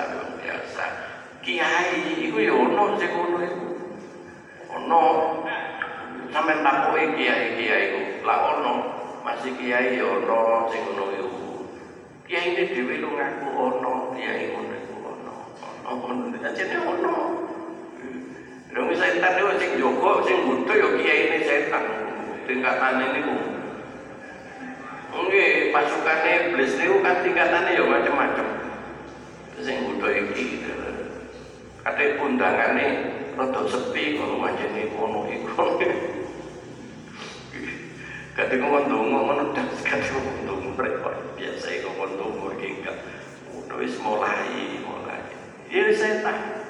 kiai itu ya ono sing ngono iku ono sampean takoki kiai iku lah ono masih kiai ya ono sing ngono iku kiai ini dhewe lu ngaku ono kiai ngono iku ono ajene ono lha wis setan niku sing jogo sing butuh ya kiai ini setan tingkatane niku nggih pasukane iblis niku kan tingkatane ya macam-macam sing butuh iki kate undangane rada sepi kok manjene kono iku kate ngomong ngono dak kate ngomong repot biasa iku ngomong iki enggak wis mulai ya setan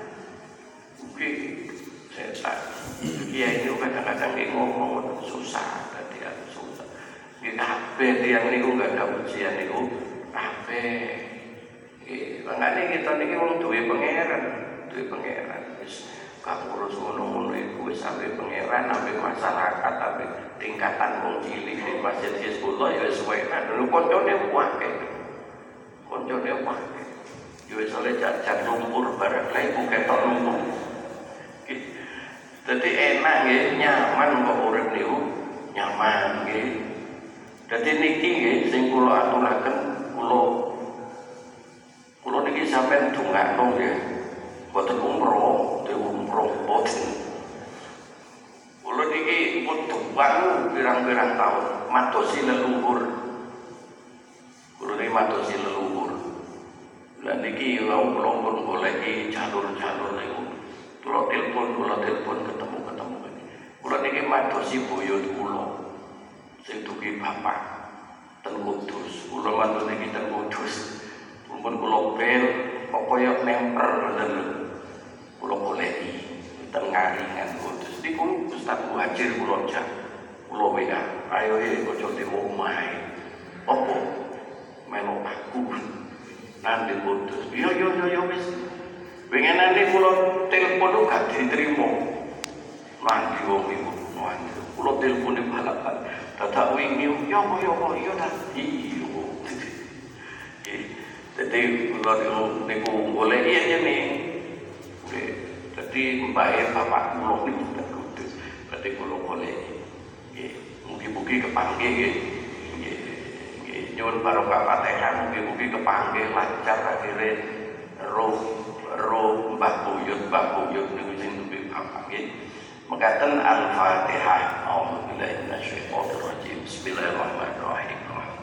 setan kiai itu kadang-kadang ngomong susah tadi susah di kabeh tiyang niku enggak ada ujian niku kabeh makanya kita niki wong duwe pangeran wis gak ngurus ngono-ngono iku wis sampe pangeran sampe masyarakat sampe tingkatan wong cilik di Masjid Hizbullah ya wis enak lho koncone akeh ya wis oleh jajan lumpur barang lha iku ketok lumpur dadi enak nggih nyaman kok urip niku nyaman nggih dadi niki nggih sing kula aturaken kula niki sampean dongakno nggih boten umroh boten kula niki pun tuwang pirang-pirang tahun matosi leluhur kula niki matosi leluhur lan niki kula pun goleki jalur-jalur niku kula telepon ketemu kula niki matosi buyut kula sing dugi bapak ten Kudus kula mantu niki ten Kudus pun kula bel kok koyo nemper ngoten lho kula goleki ten Ngaringan Kudus niku Ustaz Muhajir kula jak kula WA ayo aja di omahe opo melu aku nang di Kudus yo wis pengenane kula telepon gak diterima mandi wong iku kula telepon balak-balik dadak wingi yo ta iyo dadi kula niku golek ngene dadi mbae bapak kula niku Kudus dadi kula golek nggih mugi-mugi kepanggih nggih nyuwun barokah Fatihah mugi-mugi kepanggih lancar akhire roh Mbah Buyut niku sing duwe bapak nggih mekaten Al-Fatihah A'udzubillahi minasyaitonir rajim Bismillahirrahmanirrahim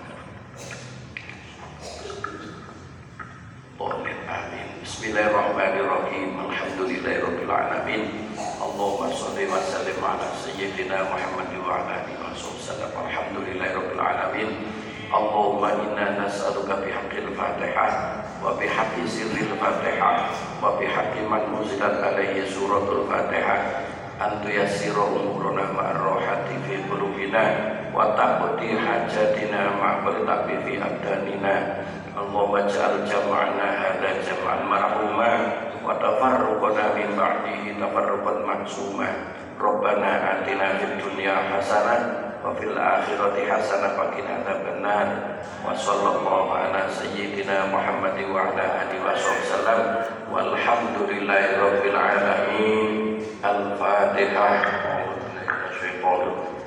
Amin Bismillahirrahmanirrahim Alhamdulillahirabbil alamin Allahumma shalli wa sallim ala sayyidina Muhammad wa ala alihi wasallam Alhamdulillahirabbil alamin Allahumma inna nas'aluka bihaqqil Fatihah wa bihaqqi sirril Fatihah wa bihaqqi man unzilat alaihi suratul Fatihah antu yassira umuruna ma'arrohati fi qulubina wa taqdi hajatina ma'qaltabi fi abdanina Allahumma ja'al jam'ana hadha jam'an marhuma wa tafarruqana min ba'dihi tafarruqan maksuma Rabbana atina fid dunya hasanah wa fil akhirati hasanah wa qina adzabannar. Wa sallallahu ala sayyidina Muhammad wa ala alihi wasallam. Walhamdulillahi rabbil alamin. Al-Fatihah.